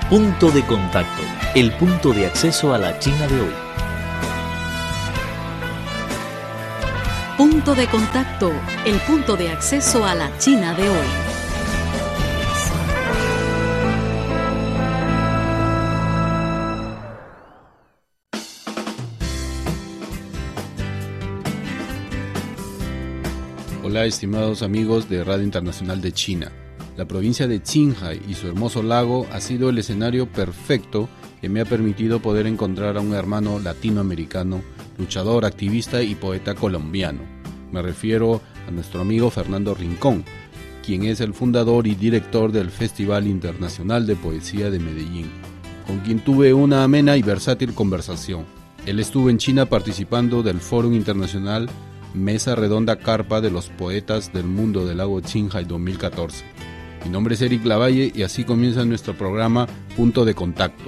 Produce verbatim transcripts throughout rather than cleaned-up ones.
Punto de contacto, el punto de acceso a la China de hoy. Punto de contacto, el punto de acceso a la China de hoy. Hola, estimados amigos de Radio Internacional de China. La provincia de Qinghai y su hermoso lago ha sido el escenario perfecto que me ha permitido poder encontrar a un hermano latinoamericano, luchador, activista y poeta colombiano. Me refiero a nuestro amigo Fernando Rincón, quien es el fundador y director del Festival Internacional de Poesía de Medellín, con quien tuve una amena y versátil conversación. Él estuvo en China participando del Fórum Internacional Mesa Redonda Carpa de los Poetas del Mundo del Lago Qinghai dos mil catorce. Mi nombre es Eric Lavalle y así comienza nuestro programa Punto de Contacto.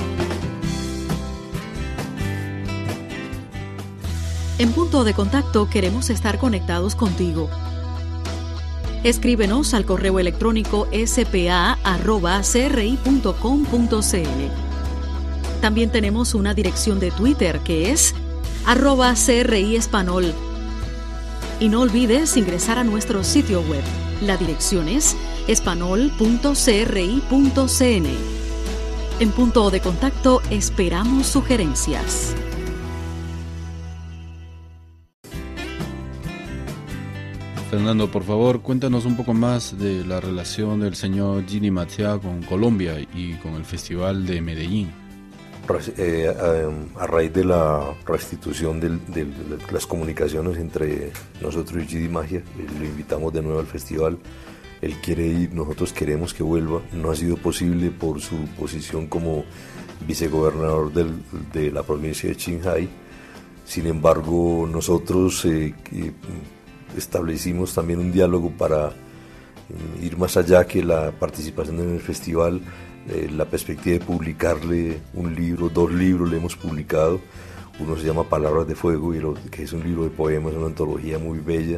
En Punto de Contacto queremos estar conectados contigo. Escríbenos al correo electrónico s p a arroba c r i punto com punto c l. También tenemos una dirección de Twitter que es arroba C R I Espanol. Y no olvides ingresar a nuestro sitio web. La dirección es espanol punto c r i punto c n. En Punto de Contacto esperamos sugerencias. Fernando, por favor, cuéntanos un poco más de la relación del señor Gidi Mathia con Colombia y con el Festival de Medellín. Eh, a, a raíz de la restitución del, de las comunicaciones entre nosotros y Gidi Mathia, eh, lo invitamos de nuevo al festival. Él quiere ir, nosotros queremos que vuelva. No ha sido posible por su posición como vicegobernador del, de la provincia de Qinghai. Sin embargo, nosotros eh, establecimos también un diálogo para eh, ir más allá que la participación en el festival. Eh, la perspectiva de publicarle un libro, dos libros le hemos publicado. Uno se llama Palabras de Fuego, y lo, que es un libro de poemas, una antología muy bella.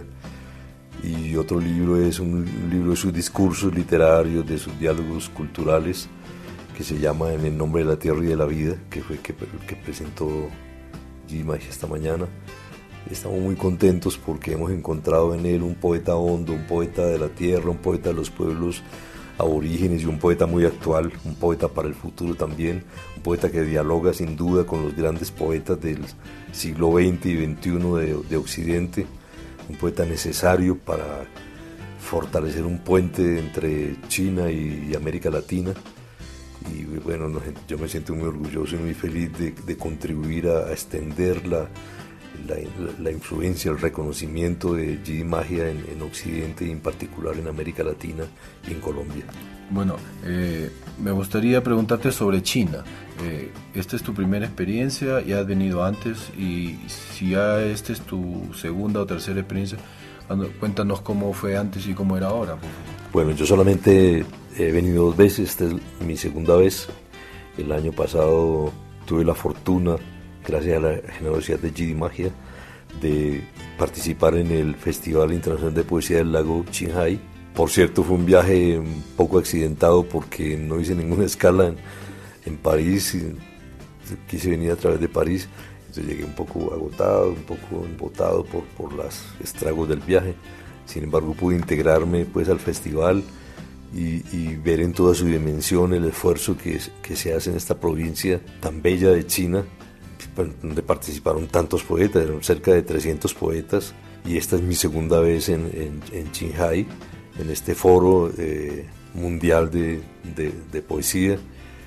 Y otro libro es un libro de sus discursos literarios, de sus diálogos culturales, que se llama En el nombre de la tierra y de la vida, que fue el que, que presentó Gidi Mathia esta mañana. Estamos muy contentos porque hemos encontrado en él un poeta hondo, un poeta de la tierra, un poeta de los pueblos aborígenes y un poeta muy actual, un poeta para el futuro también, un poeta que dialoga sin duda con los grandes poetas del siglo veinte y veintiuno de, de Occidente, un poeta necesario para fortalecer un puente entre China y, y América Latina. Y bueno, no, yo me siento muy orgulloso y muy feliz de, de contribuir a, a extender la, la, la influencia, el reconocimiento de Gidi Mathia en, en Occidente y en particular en América Latina y en Colombia. Bueno, eh, me gustaría preguntarte sobre China. Eh, esta es tu primera experiencia, ya has venido antes, y si ya esta es tu segunda o tercera experiencia, cuéntanos cómo fue antes y cómo era ahora. Bueno, yo solamente he venido dos veces, esta es mi segunda vez. El año pasado tuve la fortuna, gracias a la generosidad de Gidi Mathia, de participar en el Festival Internacional de Poesía del Lago Qinghai. Por cierto, fue un viaje un poco accidentado porque no hice ninguna escala en, en París, y quise venir a través de París, entonces llegué un poco agotado, un poco embotado por, por los estragos del viaje. Sin embargo, pude integrarme pues al festival y, y ver en toda su dimensión el esfuerzo que, que se hace en esta provincia tan bella de China, donde participaron tantos poetas, eran cerca de trescientos poetas, y esta es mi segunda vez en, en, en Qinghai, en este foro eh, mundial de, de, de poesía.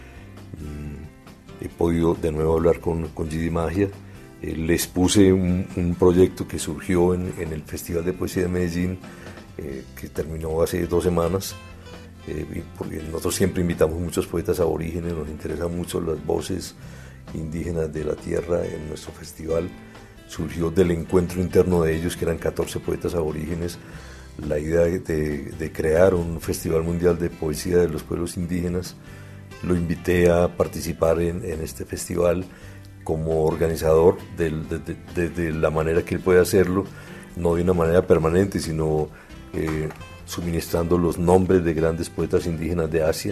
Mm, he podido de nuevo hablar con, con Gidi Mathia. Eh, les puse un, un proyecto que surgió en, en el Festival de Poesía de Medellín, eh, que terminó hace dos semanas, eh, porque nosotros siempre invitamos muchos poetas aborígenes, nos interesan mucho las voces indígenas de la tierra en nuestro festival. Surgió del encuentro interno de ellos, que eran catorce poetas aborígenes, la idea de, de crear un festival mundial de poesía de los pueblos indígenas. Lo invité a participar en, en este festival como organizador de, de, de, de la manera que él puede hacerlo, no de una manera permanente, sino eh, suministrando los nombres de grandes poetas indígenas de Asia,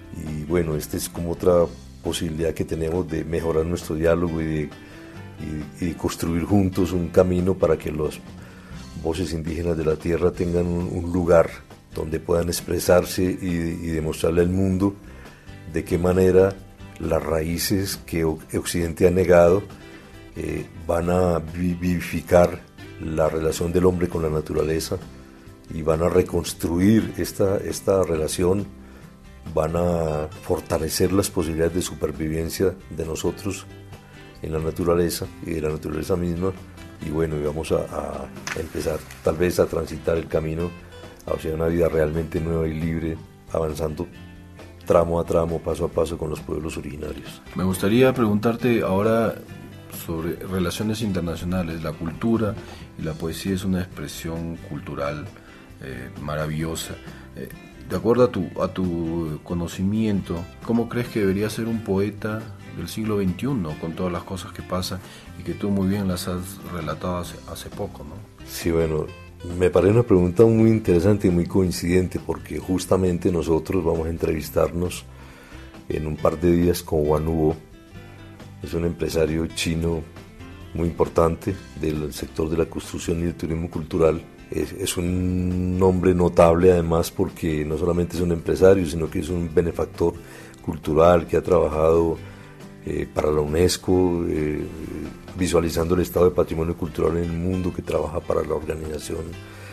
Y bueno, esta es como otra posibilidad que tenemos de mejorar nuestro diálogo y de, y, y construir juntos un camino para que las voces indígenas de la tierra tengan un, un lugar donde puedan expresarse y, y demostrarle al mundo de qué manera las raíces que Occidente ha negado eh, van a vivificar la relación del hombre con la naturaleza y van a reconstruir esta, esta relación, van a fortalecer las posibilidades de supervivencia de nosotros en la naturaleza y de la naturaleza misma. Y bueno, y vamos a, a empezar tal vez a transitar el camino hacia una vida realmente nueva y libre, avanzando tramo a tramo, paso a paso con los pueblos originarios. Me gustaría preguntarte ahora sobre relaciones internacionales. La cultura y la poesía es una expresión cultural eh, maravillosa. Eh, de acuerdo a tu, a tu conocimiento, ¿cómo crees que debería ser un poeta del siglo veintiuno con todas las cosas que pasan y que tú muy bien las has relatado hace, hace poco, ¿no? Sí, bueno, me parece una pregunta muy interesante y muy coincidente, porque justamente nosotros vamos a entrevistarnos en un par de días con Wan Huo. Es un empresario chino muy importante del sector de la construcción y el turismo cultural. Es, es un hombre notable además porque no solamente es un empresario, sino que es un benefactor cultural que ha trabajado eh, para la UNESCO, eh, visualizando el estado de patrimonio cultural en el mundo, que trabaja para la organización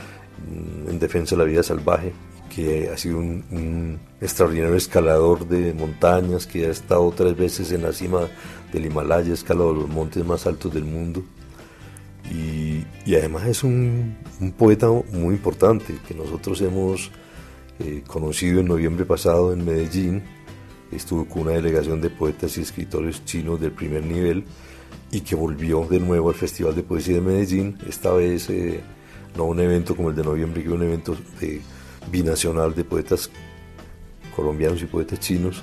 en defensa de la vida salvaje, que ha sido un, un extraordinario escalador de montañas, que ha estado tres veces en la cima del Himalaya, ha escalado los montes más altos del mundo, y, y además es un, un poeta muy importante que nosotros hemos eh, conocido en noviembre pasado en Medellín. Estuvo con una delegación de poetas y escritores chinos del primer nivel y que volvió de nuevo al Festival de Poesía de Medellín, esta vez eh, no un evento como el de noviembre, que un evento de, binacional de poetas colombianos y poetas chinos,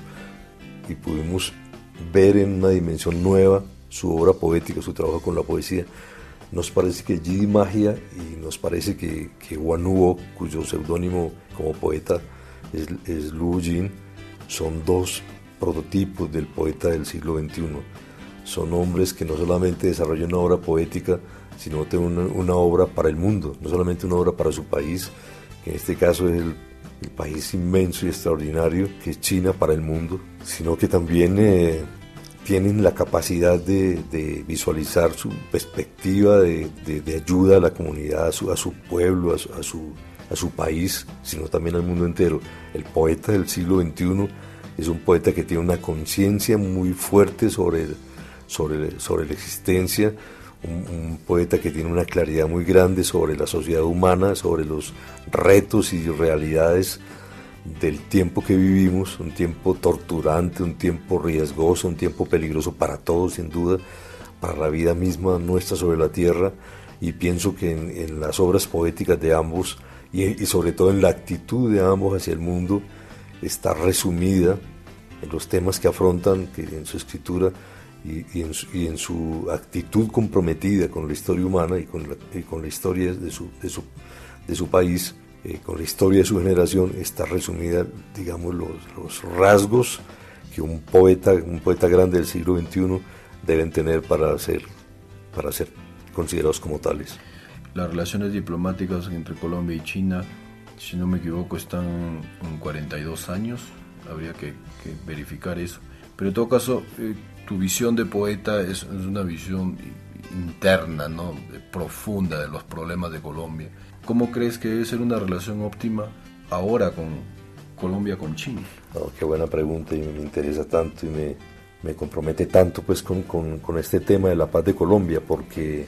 y pudimos ver en una dimensión nueva su obra poética, su trabajo con la poesía. Nos parece que Yidi Magia y nos parece que, que Wan Huo, cuyo seudónimo como poeta es, es Lu Jin, son dos prototipos del poeta del siglo veintiuno. Son hombres que no solamente desarrollan una obra poética, sino una, una obra para el mundo, no solamente una obra para su país, que en este caso es el, el país inmenso y extraordinario que es China para el mundo, sino que también eh, tienen la capacidad de, de visualizar su perspectiva de, de, de ayuda a la comunidad, a su, a su pueblo, a su, a, su, a su país, sino también al mundo entero. El poeta del siglo veintiuno es un poeta que tiene una conciencia muy fuerte sobre, sobre, sobre la existencia, un, un poeta que tiene una claridad muy grande sobre la sociedad humana, sobre los retos y realidades del tiempo que vivimos, un tiempo torturante, un tiempo riesgoso, un tiempo peligroso para todos, sin duda, para la vida misma nuestra sobre la tierra, y pienso que en, en las obras poéticas de ambos y, y sobre todo en la actitud de ambos hacia el mundo está resumida en los temas que afrontan, que en su escritura y, y, en, su, y en su actitud comprometida con la historia humana y con la, y con la historia de su, de su, de su país. Eh, con la historia de su generación está resumida, digamos, los, los rasgos que un poeta, un poeta grande del siglo veintiuno deben tener para ser, para ser considerados como tales. Las relaciones diplomáticas entre Colombia y China, si no me equivoco, están en cuarenta y dos años, habría que, que verificar eso. Pero en todo caso, eh, tu visión de poeta es, es una visión interna, ¿no?, profunda de los problemas de Colombia. ¿Cómo crees que debe ser una relación óptima ahora con Colombia, con China? Oh, qué buena pregunta, y me interesa tanto y me, me compromete tanto pues con, con, con este tema de la paz de Colombia, porque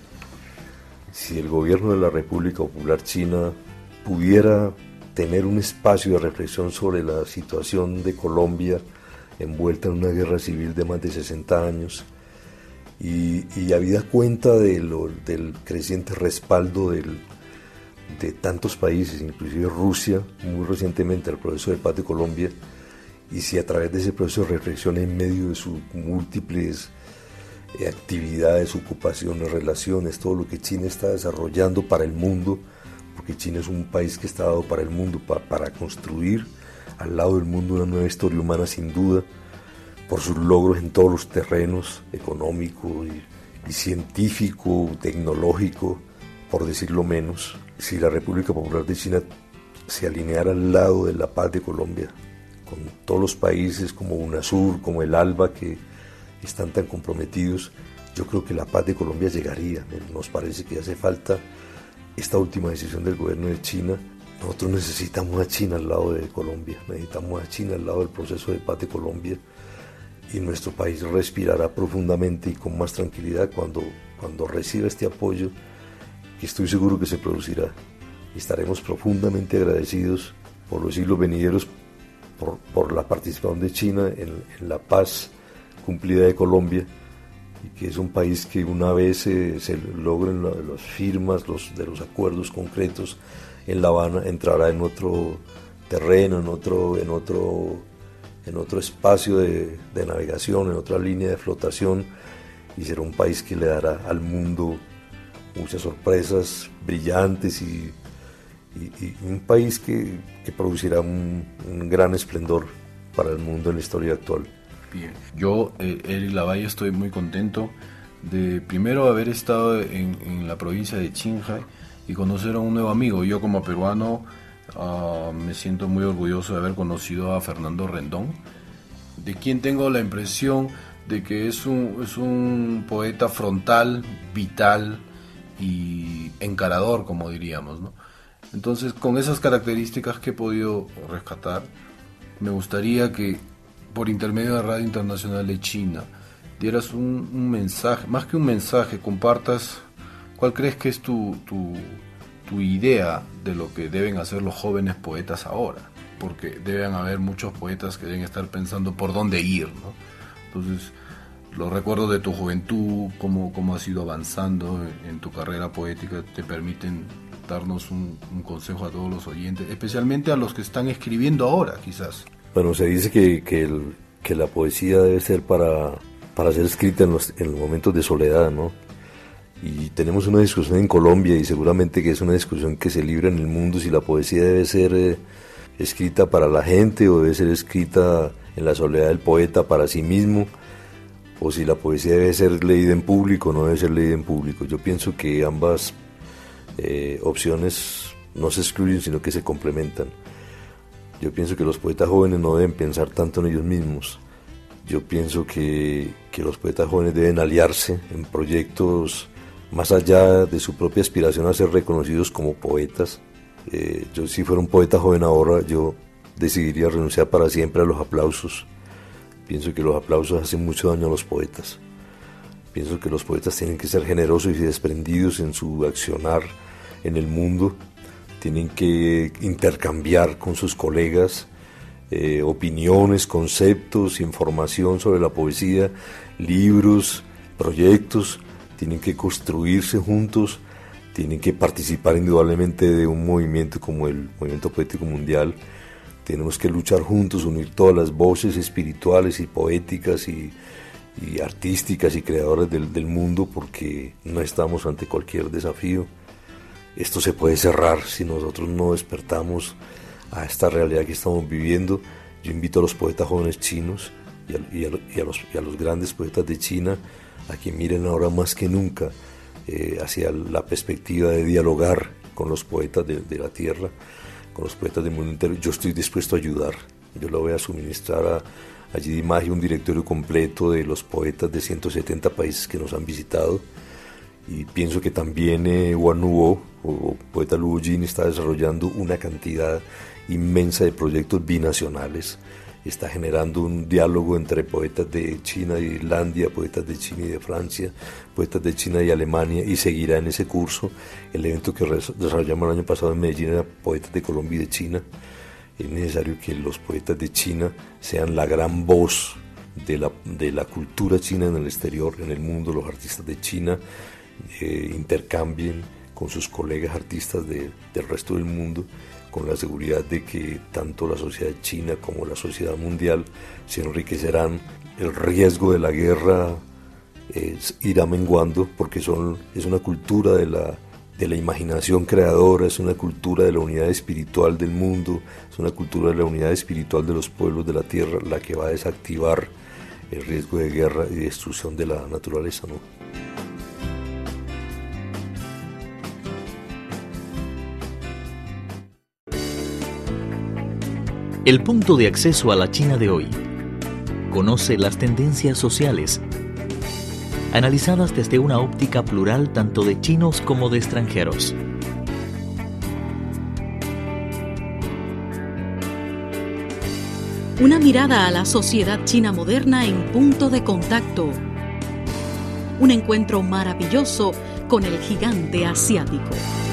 si el gobierno de la República Popular China pudiera tener un espacio de reflexión sobre la situación de Colombia envuelta en una guerra civil de más de sesenta años, y, y habida cuenta de lo, del creciente respaldo del de tantos países, inclusive Rusia, muy recientemente al proceso de paz de Colombia, y si a través de ese proceso de reflexión en medio de sus múltiples eh, actividades, ocupaciones, relaciones, todo lo que China está desarrollando para el mundo, porque China es un país que está dado para el mundo, pa, para construir al lado del mundo una nueva historia humana sin duda, por sus logros en todos los terrenos, económico y, y científico, tecnológico, por decirlo menos. Si la República Popular de China se alineara al lado de la paz de Colombia, con todos los países como UNASUR, como el ALBA, que están tan comprometidos, yo creo que la paz de Colombia llegaría. Nos parece que hace falta esta última decisión del gobierno de China. Nosotros necesitamos a China al lado de Colombia, necesitamos a China al lado del proceso de paz de Colombia, y nuestro país respirará profundamente y con más tranquilidad cuando, cuando reciba este apoyo, que estoy seguro que se producirá. Estaremos profundamente agradecidos por los siglos venideros, por, por la participación de China en, en la paz cumplida de Colombia, y que es un país que una vez eh, se logren la, las firmas los, de los acuerdos concretos en La Habana, entrará en otro terreno, en otro, en otro, en otro espacio de, de navegación, en otra línea de flotación, y será un país que le dará al mundo muchas sorpresas brillantes y, y, y un país que, que producirá un, un gran esplendor para el mundo en la historia actual. Bien, yo, eh, Eric Lavalle, estoy muy contento de primero haber estado en, en la provincia de Qinghai y conocer a un nuevo amigo. Yo como peruano uh, me siento muy orgulloso de haber conocido a Fernando Rendón, de quien tengo la impresión de que es un, es un poeta frontal, vital y encarador, como diríamos, ¿no? Entonces, con esas características que he podido rescatar, me gustaría que por intermedio de Radio Internacional de China dieras un, un mensaje, más que un mensaje, compartas cuál crees que es tu, tu, tu idea de lo que deben hacer los jóvenes poetas ahora, porque deben haber muchos poetas que deben estar pensando por dónde ir, ¿no? Entonces, los recuerdos de tu juventud, cómo, cómo has ido avanzando en, en tu carrera poética, te permiten darnos un, un consejo a todos los oyentes, especialmente a los que están escribiendo ahora, quizás. Bueno, se dice que, que, el, que la poesía debe ser para, para ser escrita en los, en los momentos de soledad, ¿no? Y tenemos una discusión en Colombia, y seguramente que es una discusión que se libra en el mundo, si la poesía debe ser eh, escrita para la gente o debe ser escrita en la soledad del poeta para sí mismo, o si la poesía debe ser leída en público o no debe ser leída en público. Yo pienso que ambas eh, opciones no se excluyen, sino que se complementan. Yo pienso que los poetas jóvenes no deben pensar tanto en ellos mismos. Yo pienso que, que los poetas jóvenes deben aliarse en proyectos más allá de su propia aspiración a ser reconocidos como poetas. Eh, yo si fuera un poeta joven ahora, yo decidiría renunciar para siempre a los aplausos. Pienso que los aplausos hacen mucho daño a los poetas. Pienso que los poetas tienen que ser generosos y desprendidos en su accionar en el mundo. Tienen que intercambiar con sus colegas eh, opiniones, conceptos, información sobre la poesía, libros, proyectos. Tienen que construirse juntos, tienen que participar indudablemente de un movimiento como el Movimiento Poético Mundial. Tenemos que luchar juntos, unir todas las voces espirituales y poéticas y, y artísticas y creadoras del, del mundo, porque no estamos ante cualquier desafío. Esto se puede cerrar si nosotros no despertamos a esta realidad que estamos viviendo. Yo invito a los poetas jóvenes chinos y a, y a, y a, los, y a los grandes poetas de China a que miren ahora más que nunca eh, hacia la perspectiva de dialogar con los poetas de, de la tierra, con los poetas del mundo entero. Yo estoy dispuesto a ayudar. Yo le voy a suministrar a, a Yidy Magia un directorio completo de los poetas de ciento setenta países que nos han visitado. Y pienso que también eh, Wan Nuo, o poeta Luo Jin, está desarrollando una cantidad inmensa de proyectos binacionales. Está generando un diálogo entre poetas de China y Islandia, poetas de China y de Francia, poetas de China y Alemania, y seguirá en ese curso. El evento que desarrollamos el año pasado en Medellín era poetas de Colombia y de China. Es necesario que los poetas de China sean la gran voz de la, de la cultura china en el exterior, en el mundo. Los artistas de China eh, intercambien con sus colegas artistas de, del resto del mundo, con la seguridad de que tanto la sociedad china como la sociedad mundial se enriquecerán. El riesgo de la guerra eh, irá menguando, porque son, es una cultura de la, de la imaginación creadora, es una cultura de la unidad espiritual del mundo, es una cultura de la unidad espiritual de los pueblos de la tierra la que va a desactivar el riesgo de guerra y destrucción de la naturaleza, ¿no? El punto de acceso a la China de hoy. Conoce las tendencias sociales, analizadas desde una óptica plural tanto de chinos como de extranjeros. Una mirada a la sociedad china moderna en Punto de Contacto. Un encuentro maravilloso con el gigante asiático.